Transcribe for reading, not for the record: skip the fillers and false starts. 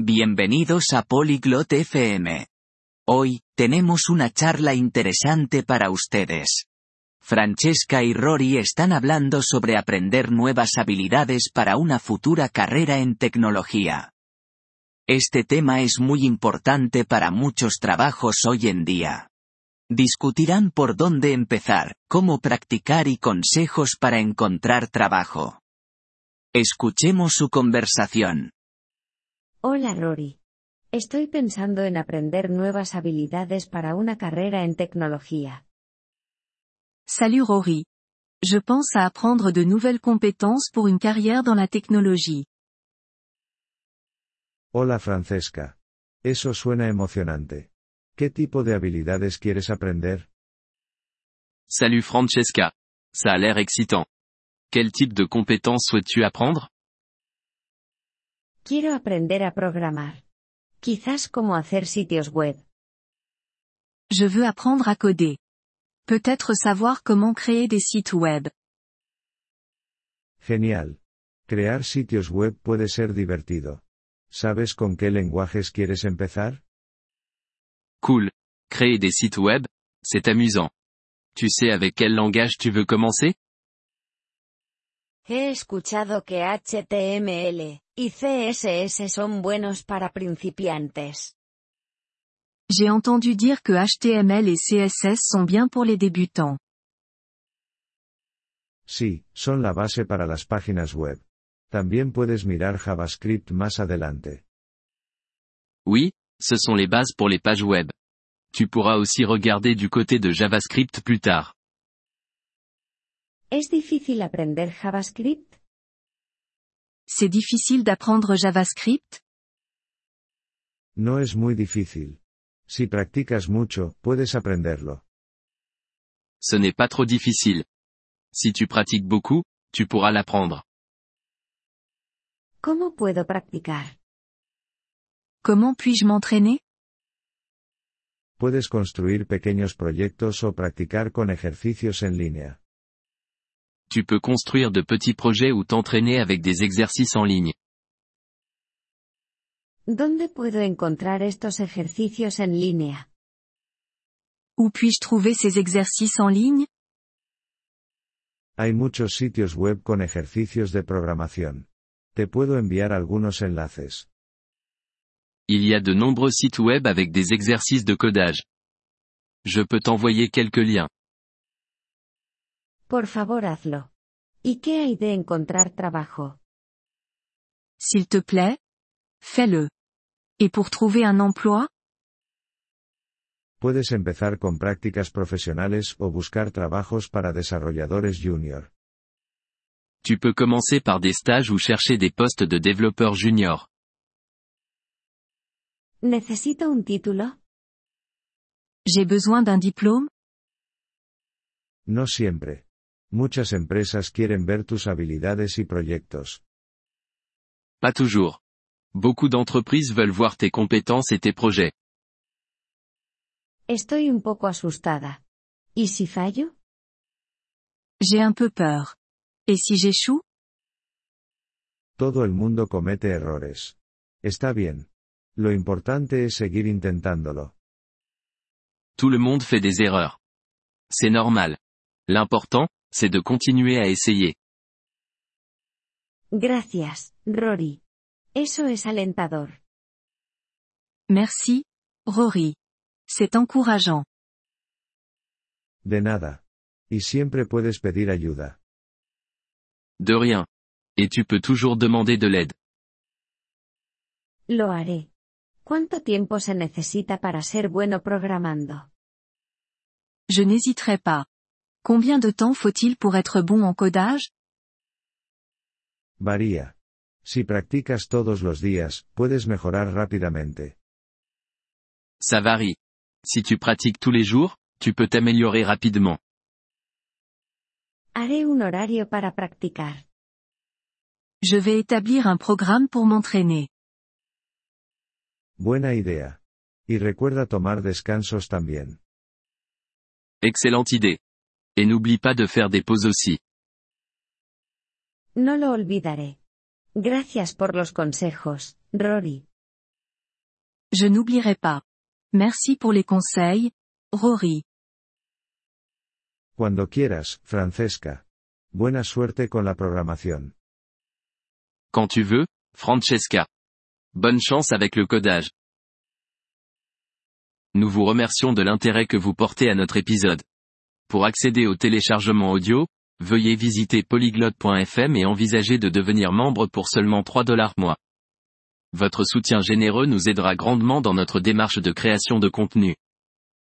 Bienvenidos a Polyglot FM. Hoy, tenemos una charla interesante para ustedes. Francesca y Rory están hablando sobre aprender nuevas habilidades para una futura carrera en tecnología. Este tema es muy importante para muchos trabajos hoy en día. Discutirán por dónde empezar, cómo practicar y consejos para encontrar trabajo. Escuchemos su conversación. Hola Rory. Estoy pensando en aprender nuevas habilidades para una carrera en tecnología. Salut Rory. Je pense à apprendre de nouvelles compétences pour une carrière dans la technologie. Hola Francesca. Eso suena emocionante. ¿Qué tipo de habilidades quieres aprender? Salut Francesca. Ça a l'air excitant. Quel type de compétences souhaites-tu apprendre? Quiero aprender a programar. Quizás cómo hacer sitios web. Je veux apprendre à coder. Peut-être savoir comment créer des sites web. Genial. Crear sitios web puede ser divertido. ¿Sabes con qué lenguajes quieres empezar? Cool. Créer des sites web, c'est amusant. Tu sais avec quel langage tu veux commencer? He escuchado que HTML y CSS son buenos para principiantes. J'ai entendu dire que HTML et CSS sont bien pour les débutants. Sí, son la base para las páginas web. También puedes mirar JavaScript más adelante. Oui, ce sont les bases pour les pages web. Tu pourras aussi regarder du côté de JavaScript plus tard. ¿Es difícil aprender JavaScript? C'est difficile d'apprendre JavaScript? No es muy difícil. Si practicas mucho, puedes aprenderlo. Ce n'est pas trop difficile. Si tu pratiques beaucoup, tu pourras l'apprendre. ¿Cómo puedo practicar? Comment puis-je m'entraîner? Puedes construir pequeños proyectos o practicar con ejercicios en línea. Tu peux construire de petits projets ou t'entraîner avec des exercices en ligne. ¿Dónde puedo encontrar estos ejercicios en línea? Où puis-je trouver ces exercices en ligne? Hay muchos sitios web con ejercicios de programación. Te puedo enviar algunos enlaces. Il y a de nombreux sites web avec des exercices de codage. Je peux t'envoyer quelques liens. Por favor hazlo. ¿Y qué hay de encontrar trabajo? S'il te plaît? Fais-le. Et pour trouver un emploi? Puedes empezar con prácticas profesionales o buscar trabajos para desarrolladores junior. Tu peux commencer par des stages ou chercher des postes de développeur junior. ¿Necesito un título? J'ai besoin d'un diplôme? No siempre. Muchas empresas quieren ver tus habilidades y proyectos. Pas toujours. Beaucoup d'entreprises veulent voir tes compétences et tes projets. Estoy un poco asustada. ¿Y si fallo? J'ai un peu peur. Et si j'échoue? Todo el mundo comete errores. Está bien. Lo importante es seguir intentándolo. Tout le monde fait des erreurs. C'est normal. L'important, c'est de continuer à essayer. Gracias, Rory. Eso es alentador. Merci, Rory. C'est encourageant. De nada. Y siempre puedes pedir ayuda. De rien. Et tu peux toujours demander de l'aide. Lo haré. ¿Cuánto tiempo se necesita para ser bueno programando? Je n'hésiterai pas. Combien de temps faut-il pour être bon en codage? Varía. Si practicas todos los días, puedes mejorar rápidamente. Ça varie. Si tu pratiques tous les jours, tu peux t'améliorer rapidement. Haré un horario para practicar. Je vais établir un programme pour m'entraîner. Buena idea. Y recuerda tomar descansos también. Excellente idée. Et n'oublie pas de faire des pauses aussi. No lo olvidaré. Gracias por los consejos, Rory. Je n'oublierai pas. Merci pour les conseils, Rory. Cuando quieras, Francesca. Buena suerte con la programación. Quand tu veux, Francesca. Bonne chance avec le codage. Nous vous remercions de l'intérêt que vous portez à notre épisode. Pour accéder au téléchargement audio, veuillez visiter polyglotte.fm et envisager de devenir membre pour seulement $3 mois. Votre soutien généreux nous aidera grandement dans notre démarche de création de contenu.